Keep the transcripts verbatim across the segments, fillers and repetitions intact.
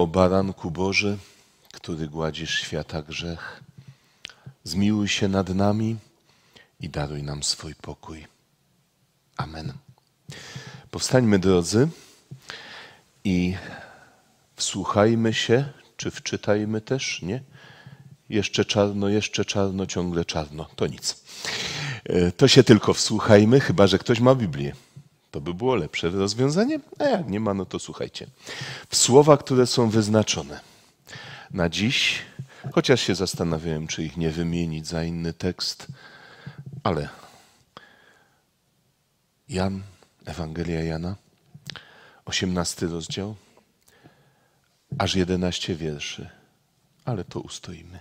O Baranku Boży, który gładzisz świata grzech, zmiłuj się nad nami i daruj nam swój pokój. Amen. Powstańmy, drodzy, i wsłuchajmy się, czy wczytajmy też, nie? Jeszcze czarno, jeszcze czarno, ciągle czarno. To nic. To się tylko wsłuchajmy, chyba że ktoś ma Biblię. To by było lepsze rozwiązanie, a jak nie ma, no to słuchajcie. W słowa, które są wyznaczone na dziś, chociaż się zastanawiałem, czy ich nie wymienić za inny tekst, ale Jan, Ewangelia Jana, osiemnasty rozdział, aż jedenaście wierszy, ale to ustoimy.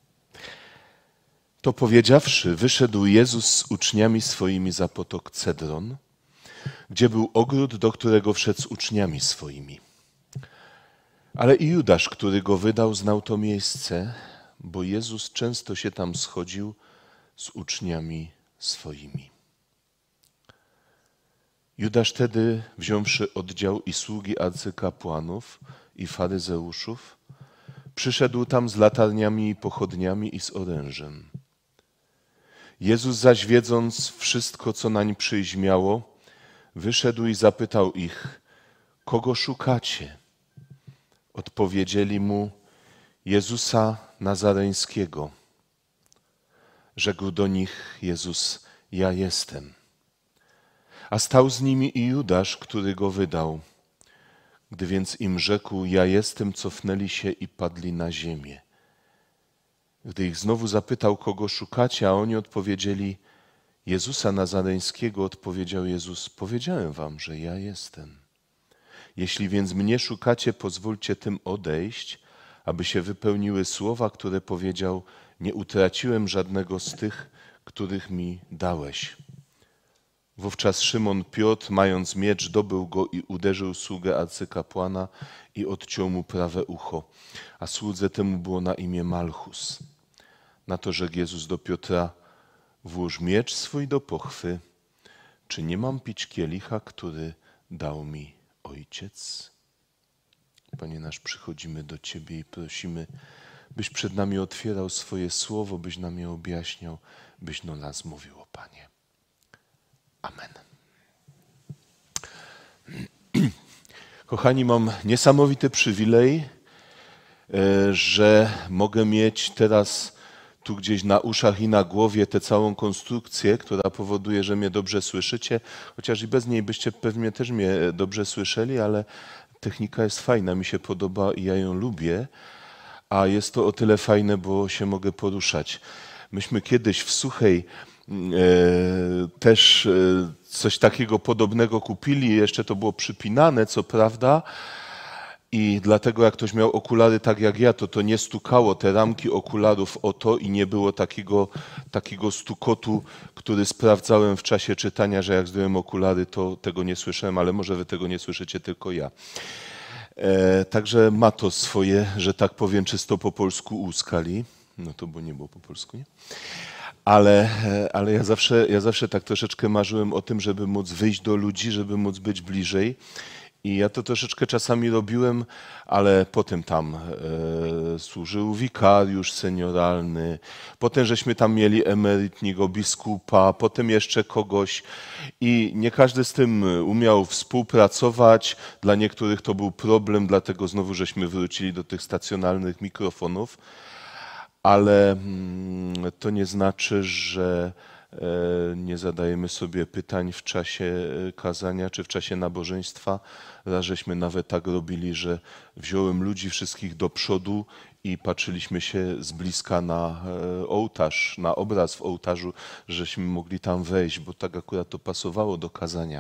To powiedziawszy, wyszedł Jezus z uczniami swoimi za potok Cedron, gdzie był ogród, do którego wszedł z uczniami swoimi. Ale i Judasz, który go wydał, znał to miejsce, bo Jezus często się tam schodził z uczniami swoimi. Judasz tedy, wziąwszy oddział i sługi arcykapłanów i faryzeuszów, przyszedł tam z latarniami i pochodniami i z orężem. Jezus zaś, wiedząc wszystko, co nań przyjść miało, wyszedł i zapytał ich: kogo szukacie? Odpowiedzieli mu: Jezusa Nazareńskiego. Rzekł do nich Jezus: ja jestem. A stał z nimi i Judasz, który go wydał. Gdy więc im rzekł: ja jestem, cofnęli się i padli na ziemię. Gdy ich znowu zapytał, kogo szukacie, a oni odpowiedzieli: Jezusa Nazareńskiego, odpowiedział Jezus: powiedziałem wam, że ja jestem. Jeśli więc mnie szukacie, pozwólcie tym odejść, aby się wypełniły słowa, które powiedział: nie utraciłem żadnego z tych, których mi dałeś. Wówczas Szymon Piotr, mając miecz, dobył go i uderzył sługę arcykapłana i odciął mu prawe ucho, a słudze temu było na imię Malchus. Na to rzekł Jezus do Piotra: włóż miecz swój do pochwy. Czy nie mam pić kielicha, który dał mi Ojciec? Panie nasz, przychodzimy do Ciebie i prosimy, byś przed nami otwierał swoje słowo, byś nam je objaśniał, byś do nas mówił, o Panie. Amen. Kochani, mam niesamowity przywilej, że mogę mieć teraz tu gdzieś na uszach i na głowie tę całą konstrukcję, która powoduje, że mnie dobrze słyszycie, chociaż i bez niej byście pewnie też mnie dobrze słyszeli, ale technika jest fajna, mi się podoba i ja ją lubię, a jest to o tyle fajne, bo się mogę poruszać. Myśmy kiedyś w Suchej e, też e, coś takiego podobnego kupili, jeszcze to było przypinane, co prawda, i dlatego jak ktoś miał okulary tak jak ja, to to nie stukało te ramki okularów o to i nie było takiego, takiego stukotu, który sprawdzałem w czasie czytania, że jak zdjąłem okulary, to tego nie słyszałem, ale może wy tego nie słyszycie, tylko ja. E, także ma to swoje, że tak powiem, czysto po polsku uskali. No to bo nie było po polsku, nie? Ale, ale ja, zawsze, ja zawsze tak troszeczkę marzyłem o tym, żeby móc wyjść do ludzi, żeby móc być bliżej. I ja to troszeczkę czasami robiłem, ale potem tam e, służył wikariusz senioralny, potem żeśmy tam mieli emerytniego biskupa, potem jeszcze kogoś i nie każdy z tym umiał współpracować. Dla niektórych to był problem, dlatego znowu żeśmy wrócili do tych stacjonarnych mikrofonów, ale mm, to nie znaczy, że nie zadajemy sobie pytań w czasie kazania czy w czasie nabożeństwa. Raz żeśmy nawet tak robili, że wziąłem ludzi wszystkich do przodu i patrzyliśmy się z bliska na ołtarz, na obraz w ołtarzu, żeśmy mogli tam wejść, bo tak akurat to pasowało do kazania.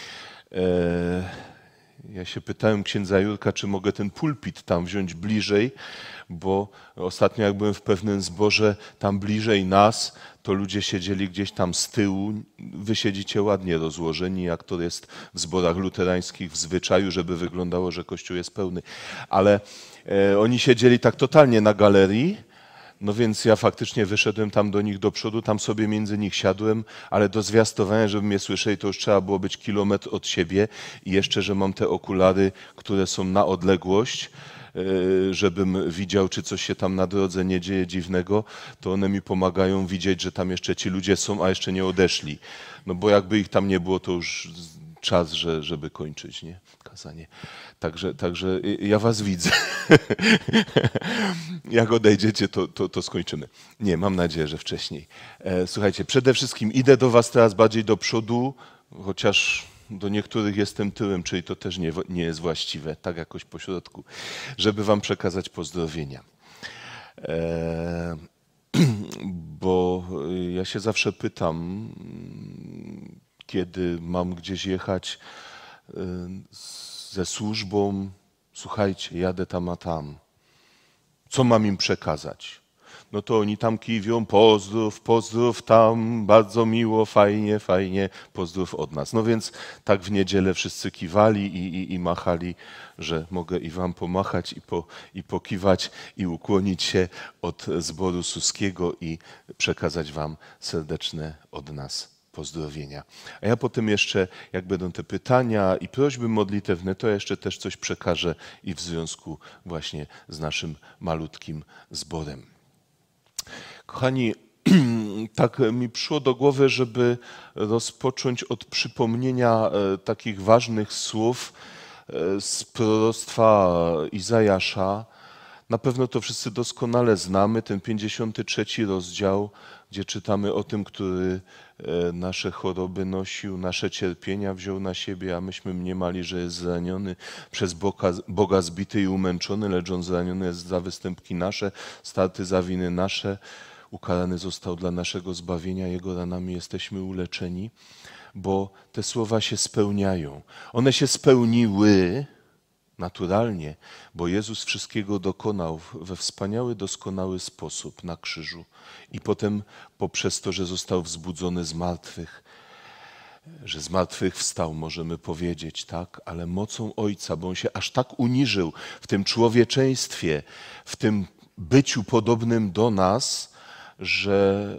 Ja się pytałem księdza Jurka, czy mogę ten pulpit tam wziąć bliżej, bo ostatnio jak byłem w pewnym zborze tam bliżej nas, to ludzie siedzieli gdzieś tam z tyłu. Wy siedzicie ładnie rozłożeni, jak to jest w zborach luterańskich w zwyczaju, żeby wyglądało, że kościół jest pełny. Ale e, oni siedzieli tak totalnie na galerii. No więc ja faktycznie wyszedłem tam do nich do przodu, tam sobie między nich siadłem, ale do zwiastowania, żeby mnie słyszeli, to już trzeba było być kilometr od siebie i jeszcze, że mam te okulary, które są na odległość, żebym widział, czy coś się tam na drodze nie dzieje dziwnego, to one mi pomagają widzieć, że tam jeszcze ci ludzie są, a jeszcze nie odeszli. No bo jakby ich tam nie było, to już czas, że, żeby kończyć, nie? Kazanie. Także, także ja was widzę. Jak odejdziecie, to, to, to skończymy. Nie, mam nadzieję, że wcześniej. Słuchajcie, przede wszystkim idę do was teraz bardziej do przodu, chociaż do niektórych jestem tyłem, czyli to też nie, nie jest właściwe, tak jakoś po środku, żeby wam przekazać pozdrowienia. E, bo ja się zawsze pytam, kiedy mam gdzieś jechać ze służbą, słuchajcie, jadę tam a tam, co mam im przekazać? No to oni tam kiwią, pozdrów, pozdrów tam, bardzo miło, fajnie, fajnie, pozdrów od nas. No więc tak w niedzielę wszyscy kiwali i, i, i machali, że mogę i wam pomachać i, po, i pokiwać i ukłonić się od zboru suskiego i przekazać wam serdeczne od nas pozdrowienia. A ja potem jeszcze, jak będą te pytania i prośby modlitewne, to ja jeszcze też coś przekażę i w związku właśnie z naszym malutkim zborem. Kochani, tak mi przyszło do głowy, żeby rozpocząć od przypomnienia takich ważnych słów z proroctwa Izajasza. Na pewno to wszyscy doskonale znamy, ten pięćdziesiąty trzeci rozdział, gdzie czytamy o tym, który nasze choroby nosił, nasze cierpienia wziął na siebie, a myśmy mniemali, że jest zraniony, przez Boga, Boga zbity i umęczony, lecz on zraniony jest za występki nasze, starty za winy nasze, ukarany został dla naszego zbawienia, jego ranami jesteśmy uleczeni, bo te słowa się spełniają. One się spełniły naturalnie, bo Jezus wszystkiego dokonał we wspaniały, doskonały sposób na krzyżu i potem poprzez to, że został wzbudzony z martwych, że z martwych wstał, możemy powiedzieć, tak, ale mocą Ojca, bo On się aż tak uniżył w tym człowieczeństwie, w tym byciu podobnym do nas, że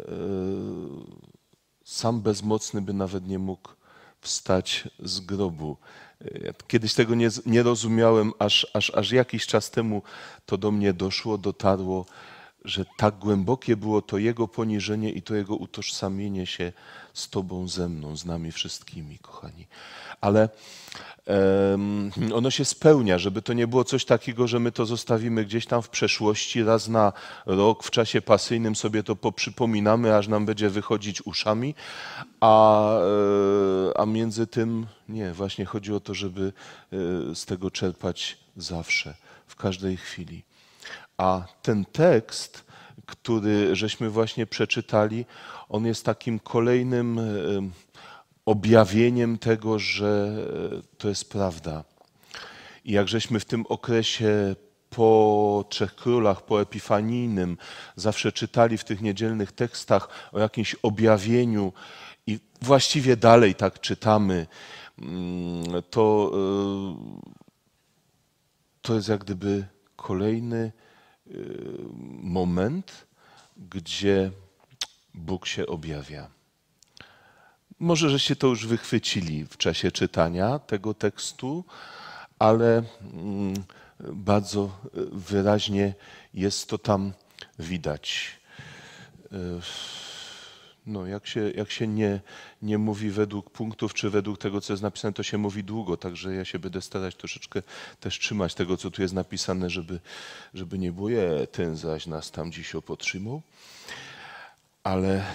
sam bezmocny by nawet nie mógł wstać z grobu. Ja kiedyś tego nie, nie rozumiałem, aż, aż, aż jakiś czas temu to do mnie doszło, dotarło, że tak głębokie było to Jego poniżenie i to Jego utożsamienie się z Tobą, ze mną, z nami wszystkimi, kochani. Ale um, ono się spełnia, żeby to nie było coś takiego, że my to zostawimy gdzieś tam w przeszłości, raz na rok w czasie pasyjnym sobie to poprzypominamy, aż nam będzie wychodzić uszami, a, a między tym nie, właśnie chodzi o to, żeby z tego czerpać zawsze, w każdej chwili. A ten tekst, który żeśmy właśnie przeczytali, on jest takim kolejnym objawieniem tego, że to jest prawda. I jak żeśmy w tym okresie po Trzech Królach, po Epifanijnym zawsze czytali w tych niedzielnych tekstach o jakimś objawieniu i właściwie dalej tak czytamy, to, to jest jak gdyby kolejny moment, gdzie Bóg się objawia. Może żeście to już wychwycili w czasie czytania tego tekstu, ale bardzo wyraźnie jest to tam widać. No, jak się, jak się nie, nie mówi według punktów, czy według tego, co jest napisane, to się mówi długo, także ja się będę starać troszeczkę też trzymać tego, co tu jest napisane, żeby, żeby nie było, je, ten zaś nas tam dziś opotrzymał, ale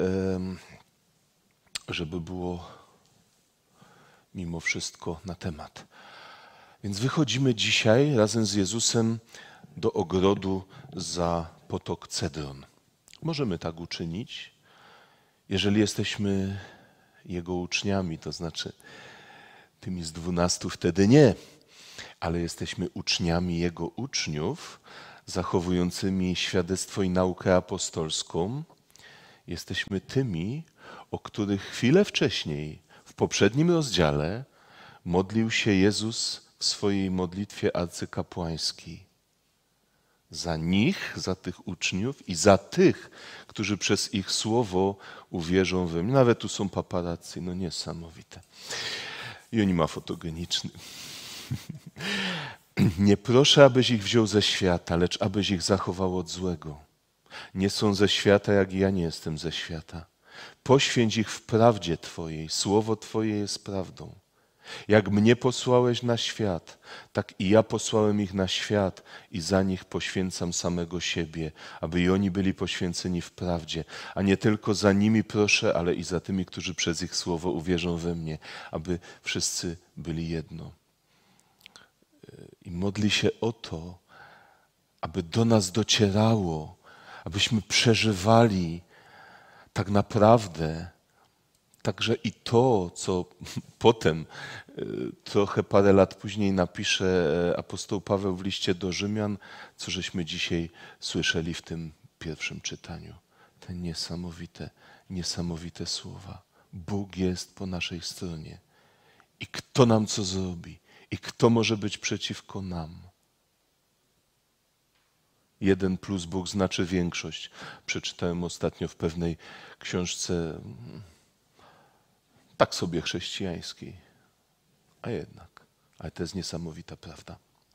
żeby było mimo wszystko na temat. Więc wychodzimy dzisiaj razem z Jezusem do ogrodu za potok Cedron. Możemy tak uczynić, jeżeli jesteśmy Jego uczniami, to znaczy tymi z dwunastu wtedy nie, ale jesteśmy uczniami Jego uczniów, zachowującymi świadectwo i naukę apostolską. Jesteśmy tymi, o których chwilę wcześniej, w poprzednim rozdziale, modlił się Jezus w swojej modlitwie arcykapłańskiej. Za nich, za tych uczniów i za tych, którzy przez ich słowo uwierzą we mnie. Nawet tu są paparazzi, no niesamowite. I oni ma fotogeniczny. Nie proszę, abyś ich wziął ze świata, lecz abyś ich zachował od złego. Nie są ze świata, jak i ja nie jestem ze świata. Poświęć ich w prawdzie Twojej, słowo Twoje jest prawdą. Jak mnie posłałeś na świat, tak i ja posłałem ich na świat i za nich poświęcam samego siebie, aby i oni byli poświęceni w prawdzie. A nie tylko za nimi proszę, ale i za tymi, którzy przez ich słowo uwierzą we mnie, aby wszyscy byli jedno. I modli się o to, aby do nas docierało, abyśmy przeżywali tak naprawdę także i to, co potem, trochę parę lat później napisze apostoł Paweł w liście do Rzymian, co żeśmy dzisiaj słyszeli w tym pierwszym czytaniu. Te niesamowite, niesamowite słowa. Bóg jest po naszej stronie. I kto nam co zrobi? I kto może być przeciwko nam? Jeden plus Bóg znaczy większość. Przeczytałem ostatnio w pewnej książce, tak sobie chrześcijańskiej. A jednak, ale to jest niesamowita prawda.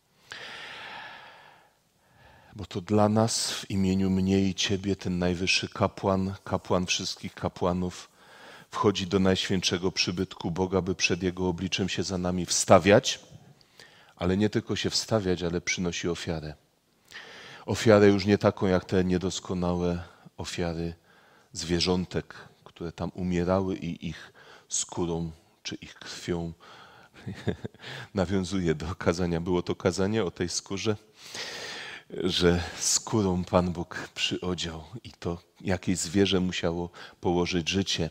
Bo to dla nas w imieniu mnie i Ciebie ten najwyższy kapłan, kapłan wszystkich kapłanów, wchodzi do najświętszego przybytku Boga, by przed Jego obliczem się za nami wstawiać, ale nie tylko się wstawiać, ale przynosi ofiarę. Ofiarę już nie taką jak te niedoskonałe ofiary zwierzątek, które tam umierały i ich skórą czy ich krwią nawiązuje do kazania. Było to kazanie o tej skórze, że skórą Pan Bóg przyodział i to jakieś zwierzę musiało położyć życie.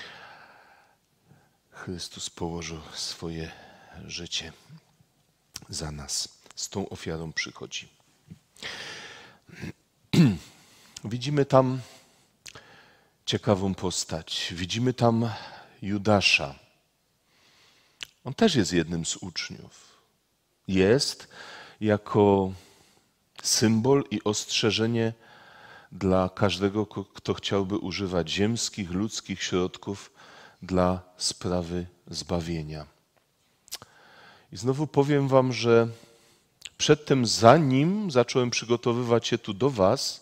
Chrystus położył swoje życie za nas. Z tą ofiarą przychodzi. Widzimy tam ciekawą postać. Widzimy tam Judasza. On też jest jednym z uczniów. Jest jako symbol i ostrzeżenie dla każdego, kto chciałby używać ziemskich, ludzkich środków dla sprawy zbawienia. I znowu powiem wam, że przedtem, zanim zacząłem przygotowywać się tu do was,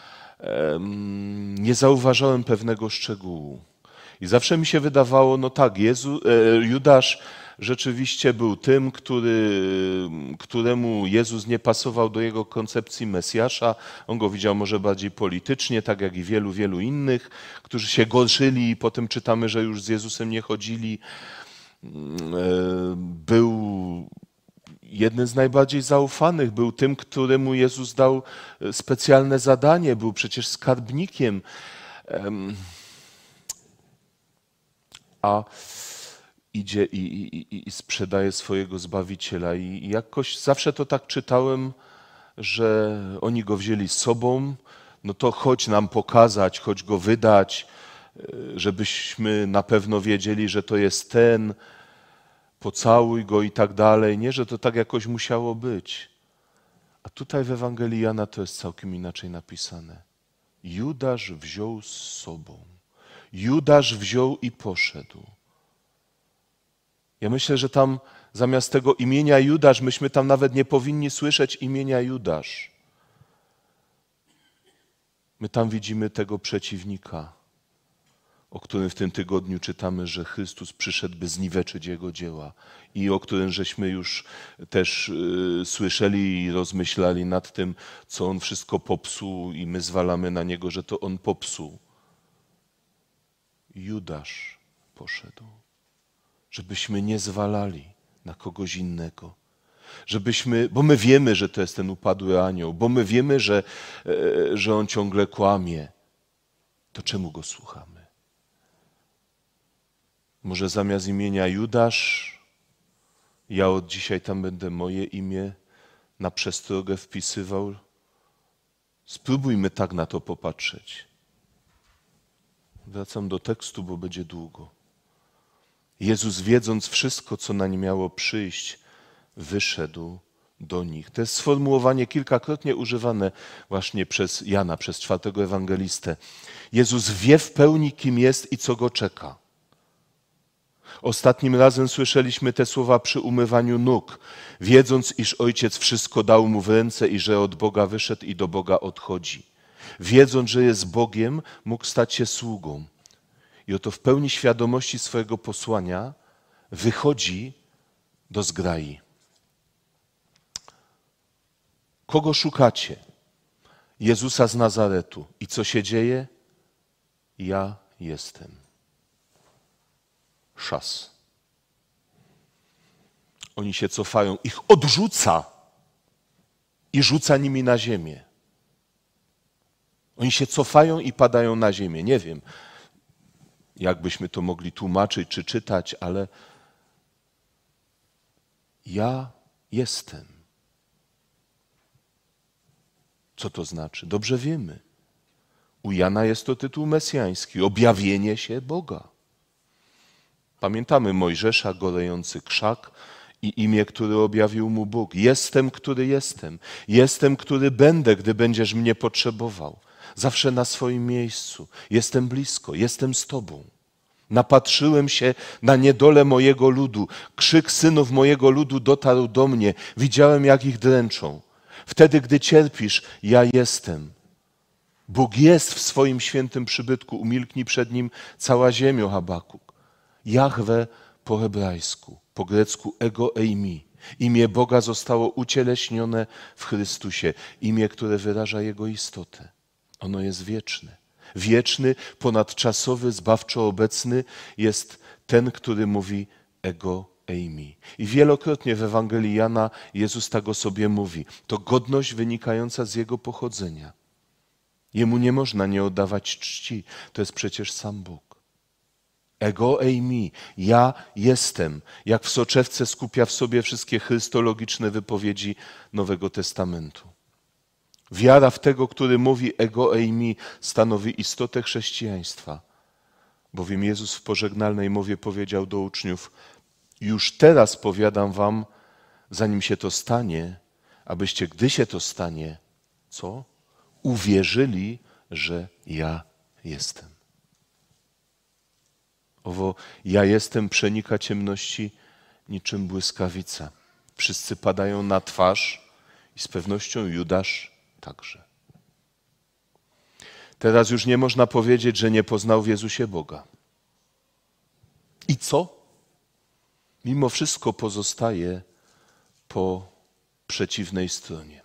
nie zauważałem pewnego szczegółu. I zawsze mi się wydawało, no tak, Jezu, Judasz rzeczywiście był tym, który, któremu Jezus nie pasował do jego koncepcji Mesjasza. On go widział może bardziej politycznie, tak jak i wielu, wielu innych, którzy się gorszyli i potem czytamy, że już z Jezusem nie chodzili. Był jeden z najbardziej zaufanych, był tym, któremu Jezus dał specjalne zadanie, był przecież skarbnikiem. A idzie i, i, i sprzedaje swojego Zbawiciela. I jakoś zawsze to tak czytałem, że oni go wzięli z sobą, no to chodź nam pokazać, chodź go wydać, żebyśmy na pewno wiedzieli, że to jest ten, pocałuj go i tak dalej. Nie, że to tak jakoś musiało być. A tutaj w Ewangelii Jana to jest całkiem inaczej napisane. Judasz wziął z sobą. Judasz wziął i poszedł. Ja myślę, że tam zamiast tego imienia Judasz, myśmy tam nawet nie powinni słyszeć imienia Judasz. My tam widzimy tego przeciwnika, o którym w tym tygodniu czytamy, że Chrystus przyszedł, by zniweczyć Jego dzieła i o którym żeśmy już też y, słyszeli i rozmyślali nad tym, co On wszystko popsuł i my zwalamy na Niego, że to On popsuł. Judasz poszedł, żebyśmy nie zwalali na kogoś innego, żebyśmy, bo my wiemy, że to jest ten upadły anioł, bo my wiemy, że, że on ciągle kłamie, to czemu go słuchamy? Może zamiast imienia Judasz, ja od dzisiaj tam będę moje imię na przestrogę wpisywał? Spróbujmy tak na to popatrzeć. Wracam do tekstu, bo będzie długo. Jezus, wiedząc wszystko, co na nie miało przyjść, wyszedł do nich. To jest sformułowanie kilkakrotnie używane właśnie przez Jana, przez czwartego ewangelistę. Jezus wie w pełni, kim jest i co go czeka. Ostatnim razem słyszeliśmy te słowa przy umywaniu nóg, wiedząc, iż Ojciec wszystko dał mu w ręce i że od Boga wyszedł i do Boga odchodzi. Wiedząc, że jest Bogiem, mógł stać się sługą. I oto w pełni świadomości swojego posłania wychodzi do zgrai. Kogo szukacie? Jezusa z Nazaretu. I co się dzieje? Ja jestem. Szas. Oni się cofają, ich odrzuca i rzuca nimi na ziemię. Oni się cofają i padają na ziemię. Nie wiem, jak byśmy to mogli tłumaczyć czy czytać, ale ja jestem. Co to znaczy? Dobrze wiemy. U Jana jest to tytuł mesjański, objawienie się Boga. Pamiętamy Mojżesza, gorejący krzak i imię, które objawił mu Bóg. Jestem, który jestem. Jestem, który będę, gdy będziesz mnie potrzebował. Zawsze na swoim miejscu. Jestem blisko, jestem z Tobą. Napatrzyłem się na niedolę mojego ludu. Krzyk synów mojego ludu dotarł do mnie. Widziałem, jak ich dręczą. Wtedy, gdy cierpisz, ja jestem. Bóg jest w swoim świętym przybytku. Umilknij przed Nim cała ziemio, Habakuk. Jahwe po hebrajsku, po grecku ego eimi. Imię Boga zostało ucieleśnione w Chrystusie. Imię, które wyraża Jego istotę. Ono jest wieczne. Wieczny, ponadczasowy, zbawczo obecny jest ten, który mówi ego eimi. I wielokrotnie w Ewangelii Jana Jezus tak o sobie mówi. To godność wynikająca z Jego pochodzenia. Jemu nie można nie oddawać czci. To jest przecież sam Bóg. Ego eimi, ja jestem, jak w soczewce skupia w sobie wszystkie chrystologiczne wypowiedzi Nowego Testamentu. Wiara w tego, który mówi ego eimi, stanowi istotę chrześcijaństwa. Bowiem Jezus w pożegnalnej mowie powiedział do uczniów: już teraz powiadam wam, zanim się to stanie, abyście, gdy się to stanie, co? Uwierzyli, że ja jestem. Owo ja jestem przenika ciemności niczym błyskawica. Wszyscy padają na twarz i z pewnością Judasz także. Teraz już nie można powiedzieć, że nie poznał w Jezusie Boga. I co? Mimo wszystko pozostaje po przeciwnej stronie.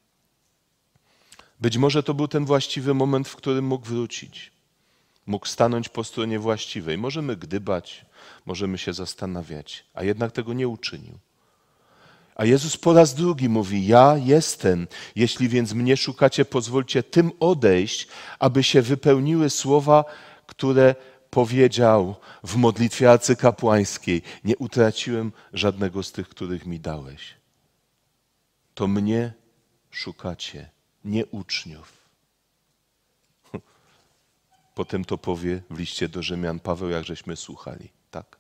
Być może to był ten właściwy moment, w którym mógł wrócić. Mógł stanąć po stronie właściwej. Możemy gdybać, możemy się zastanawiać, a jednak tego nie uczynił. A Jezus po raz drugi mówi: ja jestem. Jeśli więc mnie szukacie, pozwólcie tym odejść, aby się wypełniły słowa, które powiedział w modlitwie arcykapłańskiej: nie utraciłem żadnego z tych, których mi dałeś. To mnie szukacie, nie uczniów. Potem to powie w liście do Rzymian Paweł, jak żeśmy słuchali. Tak?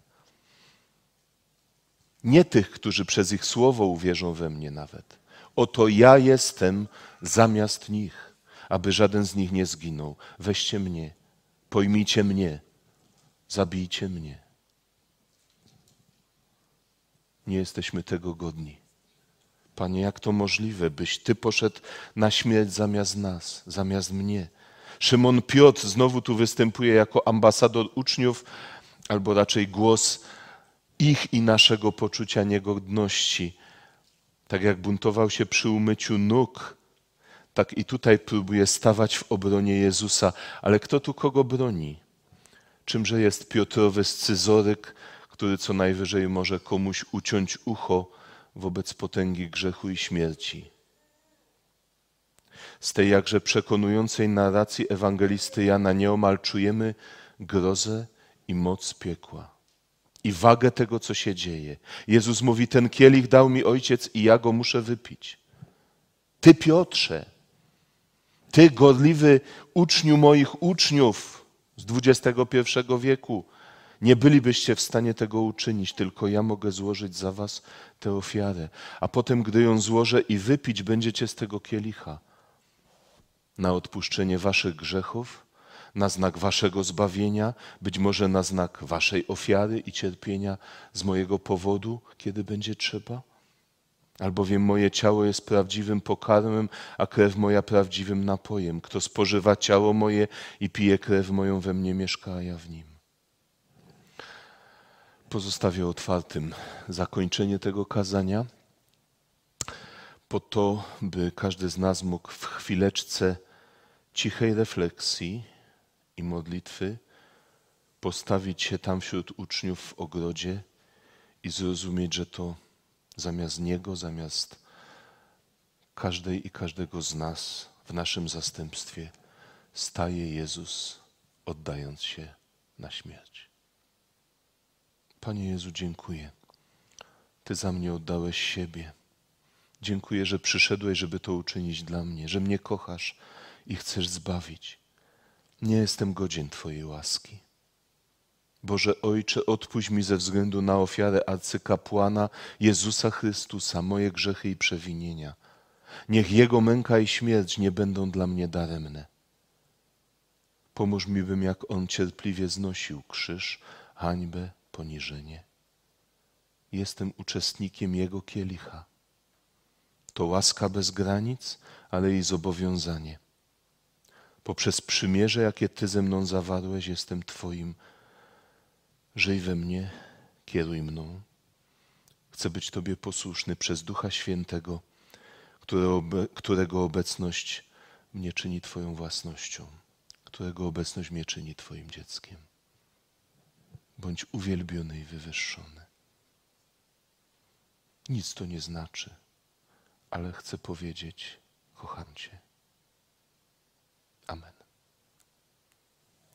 Nie tych, którzy przez ich słowo uwierzą we mnie nawet. Oto ja jestem zamiast nich, aby żaden z nich nie zginął. Weźcie mnie, pojmijcie mnie, zabijcie mnie. Nie jesteśmy tego godni. Panie, jak to możliwe, byś Ty poszedł na śmierć zamiast nas, zamiast mnie? Szymon Piotr znowu tu występuje jako ambasador uczniów, albo raczej głos ich i naszego poczucia niegodności. Tak jak buntował się przy umyciu nóg, tak i tutaj próbuje stawać w obronie Jezusa. Ale kto tu kogo broni? Czymże jest Piotrowy scyzoryk, który co najwyżej może komuś uciąć ucho wobec potęgi grzechu i śmierci? Z tej jakże przekonującej narracji ewangelisty Jana nieomal czujemy grozę i moc piekła i wagę tego, co się dzieje. Jezus mówi: ten kielich dał mi Ojciec i ja go muszę wypić. Ty, Piotrze, ty, gorliwy uczniu moich uczniów z dwudziestego pierwszego wieku, nie bylibyście w stanie tego uczynić, tylko ja mogę złożyć za was tę ofiarę. A potem, gdy ją złożę i wypić będziecie z tego kielicha, na odpuszczenie waszych grzechów, na znak waszego zbawienia, być może na znak waszej ofiary i cierpienia z mojego powodu, kiedy będzie trzeba. Albowiem moje ciało jest prawdziwym pokarmem, a krew moja prawdziwym napojem. Kto spożywa ciało moje i pije krew moją, we mnie mieszka, a ja w nim. Pozostawię otwartym zakończenie tego kazania, po to, by każdy z nas mógł w chwileczce cichej refleksji i modlitwy postawić się tam wśród uczniów w ogrodzie i zrozumieć, że to zamiast Niego, zamiast każdej i każdego z nas w naszym zastępstwie staje Jezus, oddając się na śmierć. Panie Jezu, dziękuję. Ty za mnie oddałeś siebie. Dziękuję, że przyszedłeś, żeby to uczynić dla mnie, że mnie kochasz i chcesz zbawić. Nie jestem godzien Twojej łaski. Boże Ojcze, odpuść mi ze względu na ofiarę arcykapłana Jezusa Chrystusa moje grzechy i przewinienia. Niech Jego męka i śmierć nie będą dla mnie daremne. Pomóż mi, bym jak On cierpliwie znosił krzyż, hańbę, poniżenie. Jestem uczestnikiem Jego kielicha. To łaska bez granic, ale i zobowiązanie. Poprzez przymierze, jakie Ty ze mną zawarłeś, jestem Twoim. Żyj we mnie, kieruj mną. Chcę być Tobie posłuszny przez Ducha Świętego, którego obecność mnie czyni Twoją własnością, którego obecność mnie czyni Twoim dzieckiem. Bądź uwielbiony i wywyższony. Nic to nie znaczy, ale chcę powiedzieć, kocham Cię. Amen.